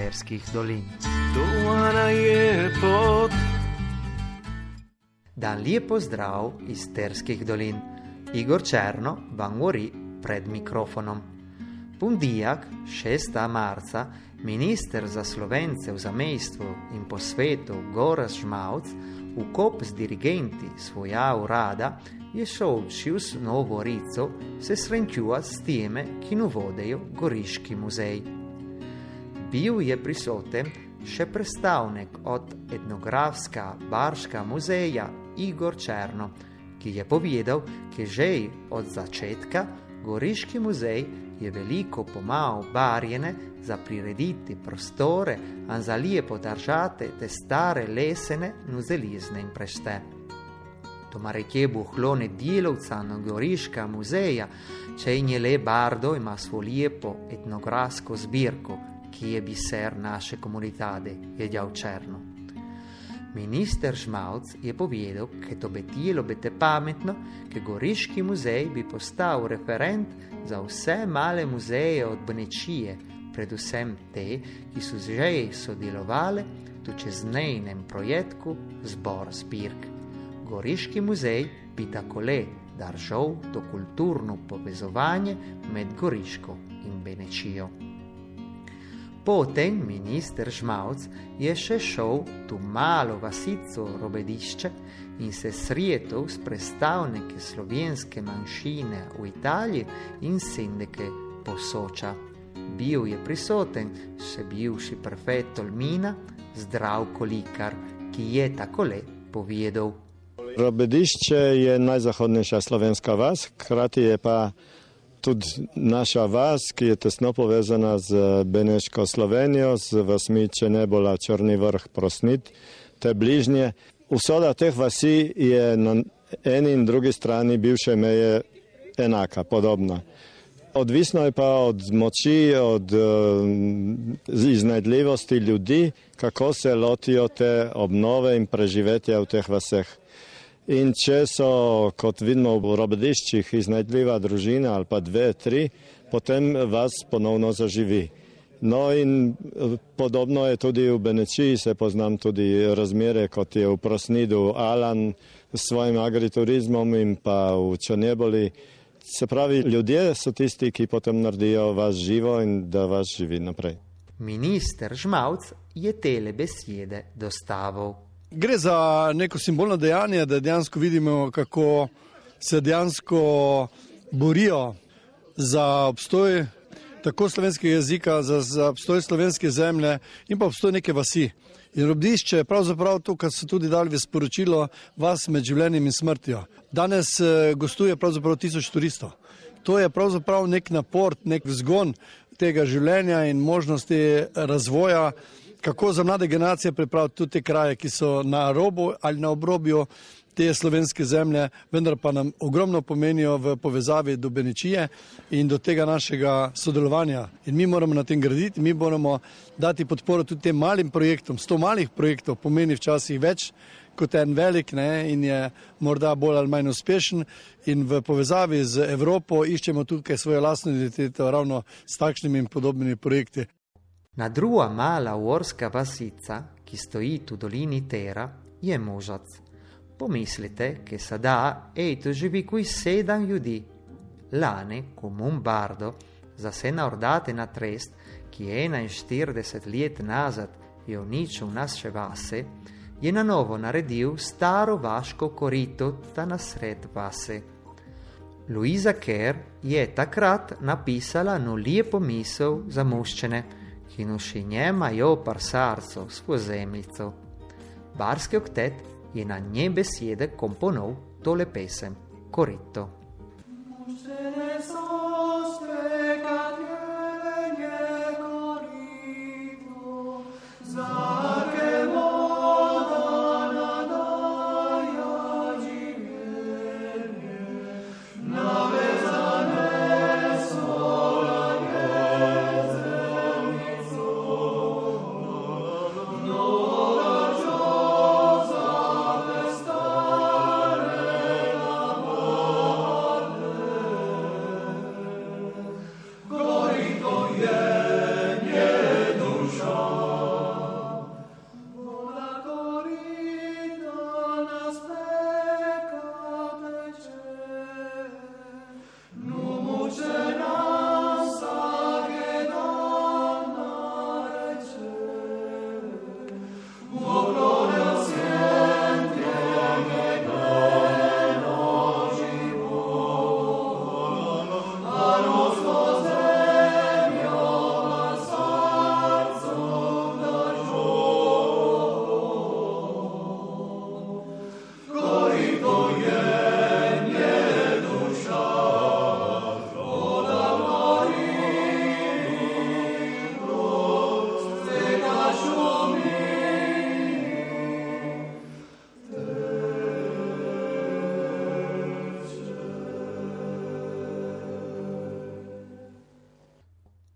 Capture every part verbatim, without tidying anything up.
Terskih dolin. Dovana je pot. Dan lijep pozdrav iz Terskih dolin. Igor Černo vam govori pred mikrofonom. Pundijak, šestega marca, minister za Slovence v zamejstvu in po svetu Gorazd Žmauc v kop z dirigenti svoja urada je šel čez Novo Rico se srečuvat s teme, ki nu vodejo Goriški muzej. Bil je prisoten še predstavnik od etnografska Barška muzeja Igor Černo, ki je povedal, da že od začetka Goriški muzej je veliko pomagal barjene za prirediti prostore in za lijepo držati te stare lesene nuzelizne in prešte. Tomarekje buhlone djelovca na Goriška muzeja, čejnje le bardo ima svo lijepo etnografsko zbirko, ki je biser naše komunitade, je djal Černo. Minister Žmauc je povedal, da to bi tijelo biti pametno, da Goriški muzej bi postal referent za vse male muzeje od Benečije, predvsem te, ki so že sodelovali v čezmejnem projektu Zbor zbirk. Goriški muzej bi takole držal to kulturno povezovanje med Goriško in Benečijo. Potem minister Žmauc je še šel tu malo vasico Robedišče in se sretel s predstavniki slovenske manjšine v Italiji in sindike Posoča. Bil je prisoten še bivši prefekt Tolmina Zdravko Likar, ki je takole povedal. Robedišče je najzahodnejša slovenska vas, hkrati je pa tudi naša vas, ki je tesno povezana z Beneško Slovenijo, z vasmi Čenebola, Črni vrh, Prosnit, te bližnje. Usoda teh vasi je na eni in drugi strani bivše meje enaka, podobna. Odvisno je pa od moči, od iznajdljivosti ljudi, kako se lotijo te obnove in preživetja v teh vaseh. In če so, kot vidimo v Robediščih, iznajdljiva družina ali pa dve, tri, potem vas ponovno zaživi. No in podobno je tudi v Benečiji, se poznam tudi razmere, kot je v Prosnidu Alan s svojim agriturizmom in pa v Črneboli. Se pravi, ljudje so tisti, ki potem naredijo vas živo in da vas živi naprej. Minister Žmauc je tele besede dostavil. Gre za neko simbolno dejanje, da dejansko vidimo, kako se dejansko borijo za obstoj tako slovenskega jezika, za, za obstoj slovenske zemlje in pa obstoj neke vasi. In Robedišče je pravzaprav to, kar so tudi dali v sporočilo, vas med življenjem in smrtjo. Danes gostuje pravzaprav tisoč turistov. To je pravzaprav nek napor, nek vzgon tega življenja in možnosti razvoja, kako za mlade generacije pripraviti tudi te kraje, ki so na robu ali na obrobju te slovenske zemlje, vendar pa nam ogromno pomenijo v povezavi do Benečije in do tega našega sodelovanja. In mi moramo na tem graditi, mi moramo dati podporo tudi tem malim projektom. Sto malih projektov pomeni včasih več kot en velik, ne, in je morda bolj ali manj uspešen. In v povezavi z Evropo iščemo tukaj svojo lastno identiteto ravno s takšnimi in podobnimi projekti. Na druga mala uorska vasica, ki stoji tu dolini Tera, je Možac. Pomislite, che sada ej tu živi qui sedam ljudi. Lane, komun bardo, za se naordate na trest, ki je enainštirideset let nazad je uničil naše vase, je na novo naredil staro vaško korito ta nasred vase. Luisa Kerr je takrat napisala no lijepo misel za muščene, ki noši njema jo parsarco svo zemljico. Barski oktet je na nje besede komponov tole pesem, Korito.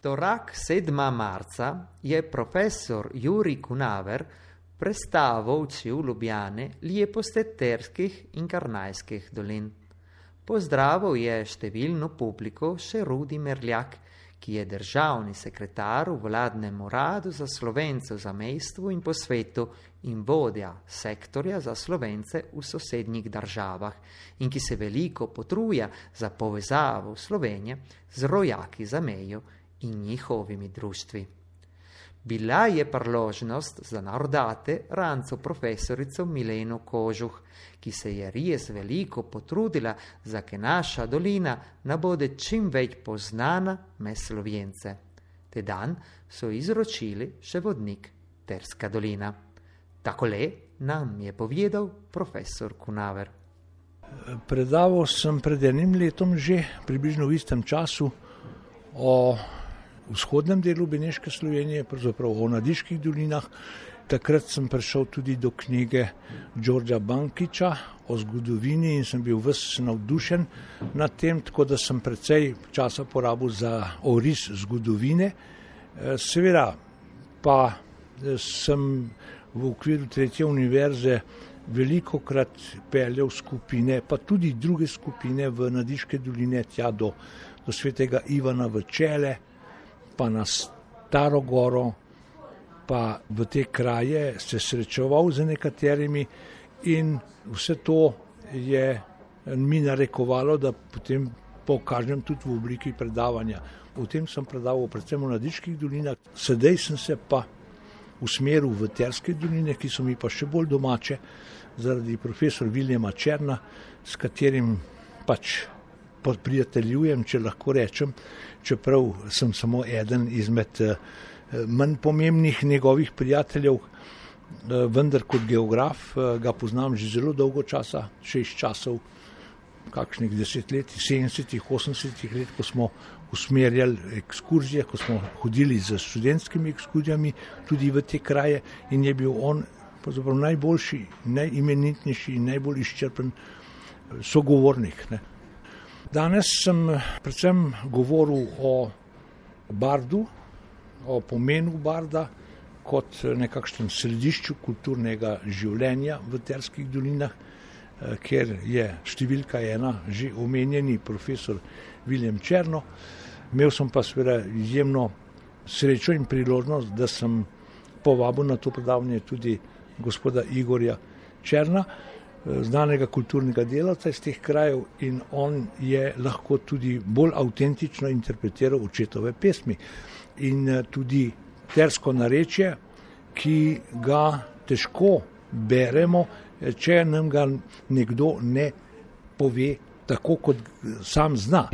Torak sedma marca je profesor Juri Kunaver predstavil v Ljubljani Lijeposteterskih in Karnajskih dolin. Pozdravil je številno publiko še Rudi Merljak, ki je državni sekretar v vladnem uradu za Slovence v zamejstvu in po svetu in vodja sektorja za Slovence v sosednjih državah in ki se veliko potruja za povezavo Slovenije z rojaki za mejo in njihovimi društvi. Bila je priložnost za narodate ranco profesorico Mileno Kožuh, ki se je res veliko potrudila, za ke naša dolina nabode čim več poznana med Slovence. Te dan so izročili še vodnik Terska dolina. Takole nam je povedal profesor Kunaver. Predaval sem pred enim letom že, približno v istem času, o vzhodnem delu Beneške Slovenije, pravzaprav o Nadiških dolinah. Takrat sem prišel tudi do knjige Đorđa Bankića o zgodovini in sem bil ves navdušen nad tem, tako da sem precej časa porabil za oris zgodovine. Seveda pa sem v okviru tretje univerze velikokrat peljal skupine, pa tudi druge skupine v Nadiške doline, tja do, do svetega Ivana v Čele, pa na Staro Goro, pa v te kraje se srečeval z nekaterimi in vse to je mi narekovalo, da potem pokažem tudi v obliki predavanja. O tem sem predaval predvsem v Nadiških dolinah, sedaj sem se pa usmeril v Terske doline, ki so mi pa še bolj domače, zaradi profesor Viljama Černa, s katerim pač prijateljujem, če lahko rečem, čeprav sem samo eden izmed manj pomembnih njegovih prijateljev, vendar kot geograf ga poznam že zelo dolgo časa, še iz časov kakšnih desetletij, sedemdesetih, osemdesetih let, ko smo usmerjali ekskurzije, ko smo hodili z študentskimi ekskurzijami tudi v te kraje in je bil on pravzaprav najboljši, najimenitnejši in najbolj izčrpen sogovornik, ne. Danes sem predvsem govoril o bardu, o pomenu barda kot nekakšnem središču kulturnega življenja v Terskih dolinah, kjer je številka ena že omenjeni profesor Viljem Černo. Imel sem pa seveda izjemno srečo in priložnost, da sem povabil na to predavanje tudi gospoda Igorja Černa, znanega kulturnega delavca iz teh krajev, in on je lahko tudi bolj avtentično interpretiral očetove pesmi. In tudi tersko narečje, ki ga težko beremo, če nam ga nekdo ne pove tako, kot sam zna.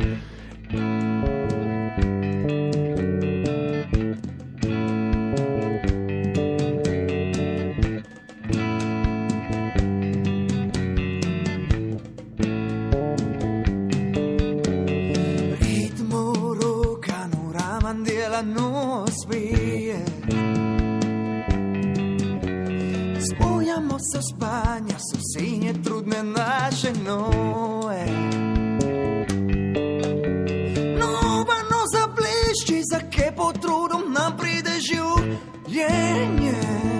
So spanja, so sinje trudne naše noe. Novano zablišči, za ke potrudom nam pride življenje.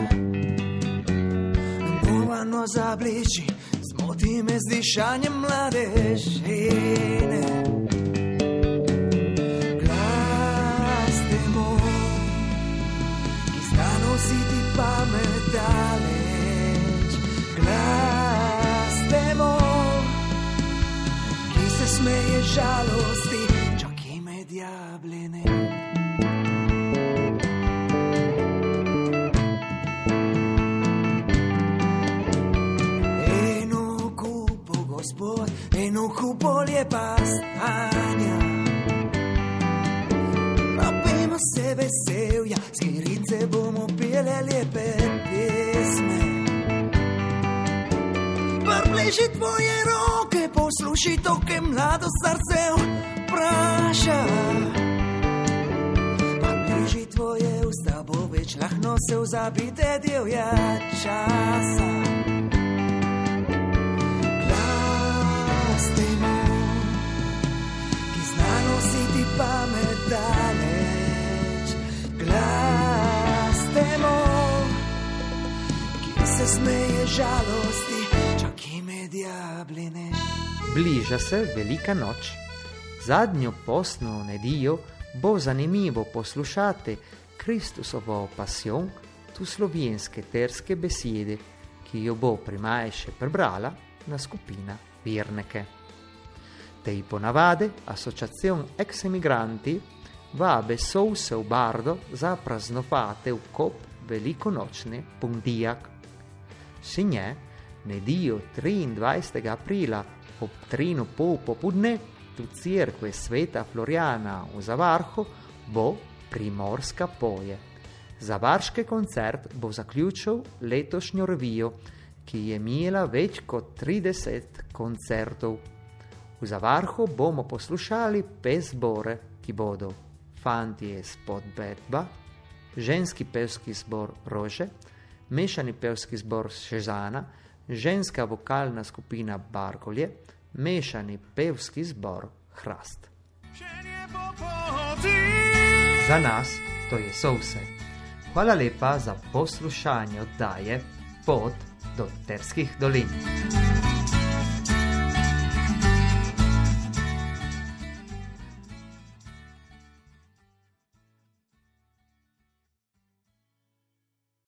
Novano zablišči, zmoti me z dišanjem mlade žene. Glas temo, ki zna nositi pamet dale. Glas temo, ki se smeje žalosti, čak ime diabline. Eno kupo, gospod, eno kupo lijepa stanja. Napijmo se veselja, skirice bomo pile lijepe pesme. Približi tvoje roke, posluši to, ke mlado srce vpraša. Približi tvoje usta, bo več lahno se vzabite divja časa. Glas temo, ki zna nositi pamet daleč. smeje žalosti, čak ime diabline. Bliža se Velika noč. Zadnjo postno nedeljo bo zanimivo poslušati Kristusovo pasijon, tu slovenske terske besede, ki jo bo primajše prebrala na skupina Vernike. Tej ponavade Associazione Ex Emigranti vabe souse v Bardo za praznovate v kop velikonočne Pundijak. Sinje, nedeljo triindvajsetega aprila ob trinu pol popudne tu Cerkve Sveta Floriana v Zavarhu bo Primorska poje. Zavarški koncert bo zaključil letošnjo revijo, ki je imela več kot trideset koncertov. V Zavarhu bomo poslušali pet zbore, ki bodo Fantje spod Bedba, ženski pevski zbor Rože, mešani pevski zbor Šežana, ženska vokalna skupina Bargolje, mešani pevski zbor Hrast. Za nas to je so vse. Hvala lepa za poslušanje oddaje Pot do Terskih dolin.